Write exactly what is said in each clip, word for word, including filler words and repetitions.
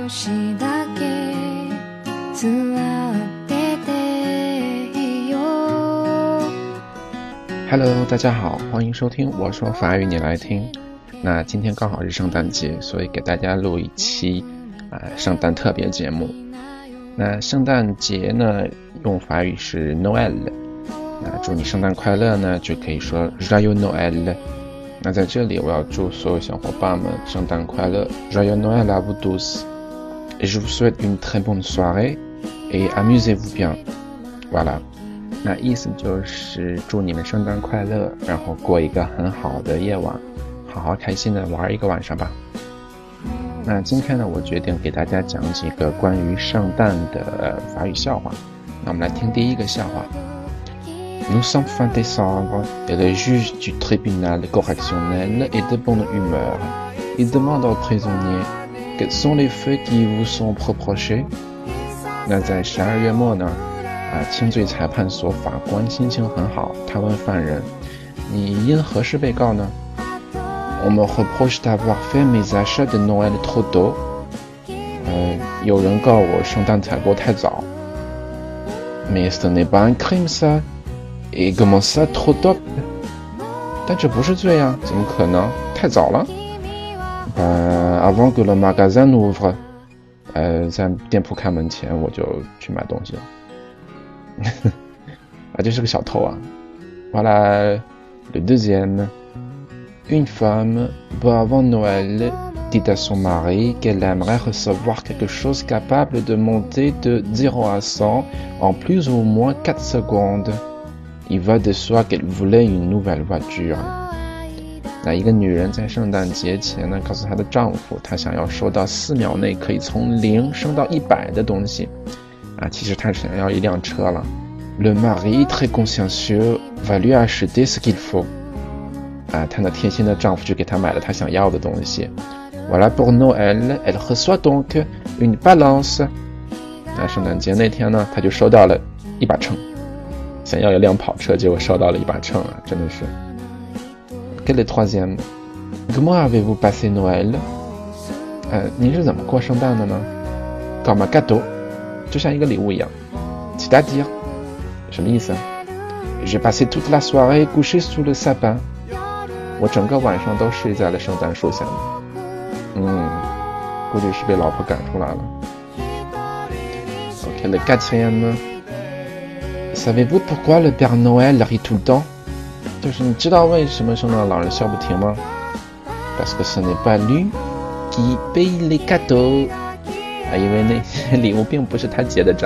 しだけ座ってていいよ。 Hello， 大家好，欢迎收听我说法语你来听。那今天刚好是圣诞节，所以给大家录一期呃圣诞特别节目。那圣诞节呢，用法语是 Noël。那祝你圣诞快乐呢，就可以说 Joyeux Noël。那在这里我要祝所有小伙伴们圣诞快乐 Joyeux Noël à vous tous et je vous souhaite une très bonne soirée et amusez-vous bien. Voilà， 那意思就是祝你们圣诞快乐，然后过一个很好的夜晚，好好开心的玩一个晚上吧。那今天呢，我决定给大家讲几个关于圣诞的法语笑话。那我们来听第一个笑话。Nous sommes fin décembre et le juge du tribunal correctionnel est de bonne humeur. Il demande aux prisonniers quels sont les faits qui vous sont reprochés. 那在十二月末呢，啊，轻罪裁判所法官心情很好，他问犯人：“你因何事被告呢？” On me reproche d'avoir fait mes achats de Noël trop tôt. 呃，有人告我圣诞采购太早。Mais ce n'est pas un crime ça.Et comment ça trop tôt? 但这不是罪啊，怎么可能？太早了。呃 avant que le magasin n'ouvre. 呃，在店铺开门前我就去买东西了。啊，这是个小偷啊。Voilà le deuxième. Une femme, peu avant Noël, dit à son mari qu'elle aimerait recevoir quelque chose capable de monter de zéro à cent en plus ou moins quatre secondes.Il va de soi qu'elle voulait une nouvelle voiture. 那一个女人在圣诞节前呢，告诉她的丈夫，她想要收到四秒内可以从零升到一百的东西。啊，其实她想要一辆车了。Le mari, très consciencieux, va lui acheter ce qu'il faut. 啊，她那贴心的丈夫就给她买了她想要的东西。Voilà pour Noël, elle reçoit donc une balance. 那圣诞节那天呢，她就收到了一把秤。想要一辆跑车，结果收到了一把秤啊，真的是。Quel est le troisième? Comment avez-vous passé Noël? 呃，您是怎么过圣诞的呢 ？Comme un cadeau， 就像一个礼物一样。C'est-à-dire， 什么意思 ？J'ai passé toute la soirée couché sous le sapin。我整个晚上都睡在了圣诞树下。嗯，估计是被老婆赶出来了。OK， le quatrième。Savez-vous pourquoi le Père Noël rit tout le temps? 就是你知道为什么圣诞老人笑不停吗 ？Parce que ce n'est pas lui qui paye les cadeaux. 啊，因为那些礼物并不是他结的账。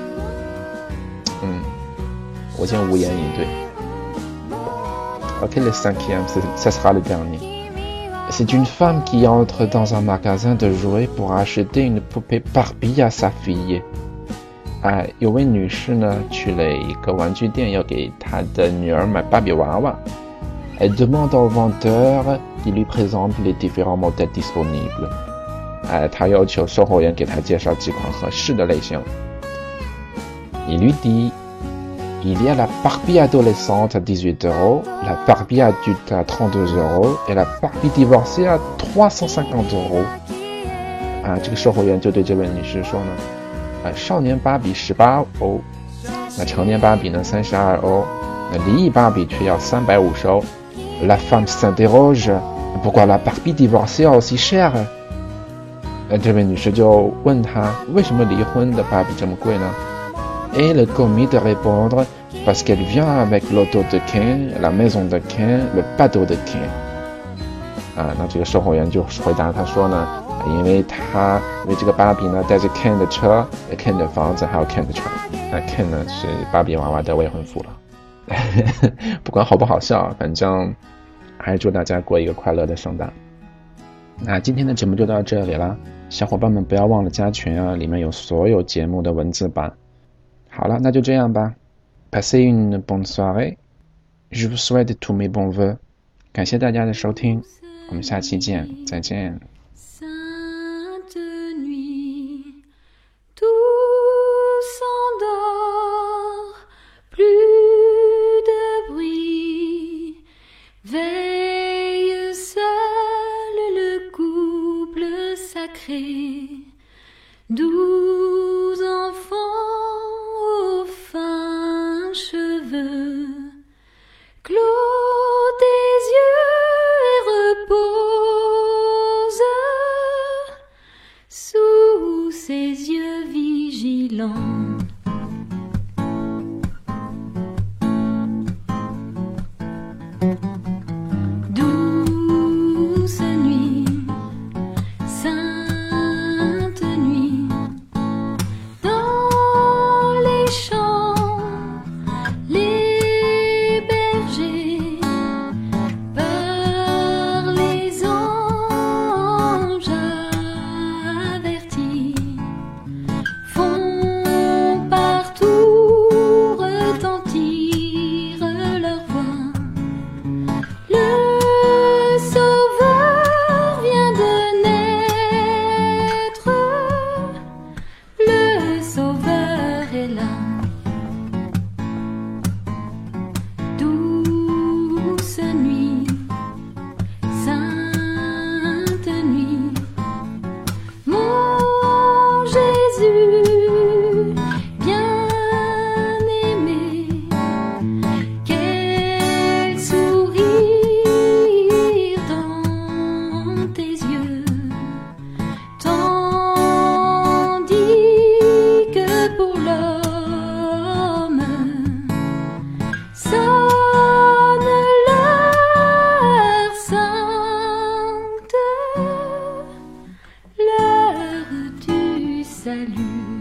嗯，我竟无言以对。OK, le cinquième, ça sera le dernier. C'est une femme qui entre dans un magasin de jouets pour acheter une poupée Barbie à sa fille.哎，有位女士呢去了一个玩具店，要给她的女儿买芭比娃娃。Elle demande au vendeur qu'il lui présente les différents modèles disponibles. 哎，她要求售货员给她介绍几款合适的类型。Il lui dit, il y a la Barbie adolescente à dix-huit euros, la Barbie adulte à trente-deux euros et la Barbie divorcée à trois cent cinquante euros. 啊，这个售货员就对这位女士说呢。少年芭比十八欧，那成年芭比呢三十二欧，那离异芭比却要三百五十欧。La femme s'interroge, pourquoi la Barbie divorcée aussi chère? 那这位女士就问他，为什么离婚的芭比这么贵呢 Et le commis de répondre, parce qu'elle vient avec l'auto de Ken, la maison de Ken, le bateau de Ken. 啊，那这个售货员就回答他说呢。因为他因为这个芭比呢带着 Ken 的车 Ken 的房子还有 Ken 的船，那 Ken 呢是芭比娃娃的未婚夫了。不管好不好笑，反正还是祝大家过一个快乐的圣诞。那今天的节目就到这里了，小伙伴们不要忘了加群啊，里面有所有节目的文字版。好了，那就这样吧。Passez une bonne soirée. Je vous souhaite tous mes bons vœux. 感谢大家的收听，我们下期见，再见。 Veille seul le couple sacré Douze enfants aux fins cheveux, clos tes yeux et repose sous ses yeux vigilants. Douce nuit, sainte nuit, dans les champs, les bergers, par les anges avertis, font partout retentir leur voix. Le Sauveur vient de naître, le Sauveur est là. Douce nuit, sainte nuit, mon Jésus bien-aimé, quel sourire dans tes yeux, tandis que pour l'homme sonne l'heure sainte, l'heure du salut.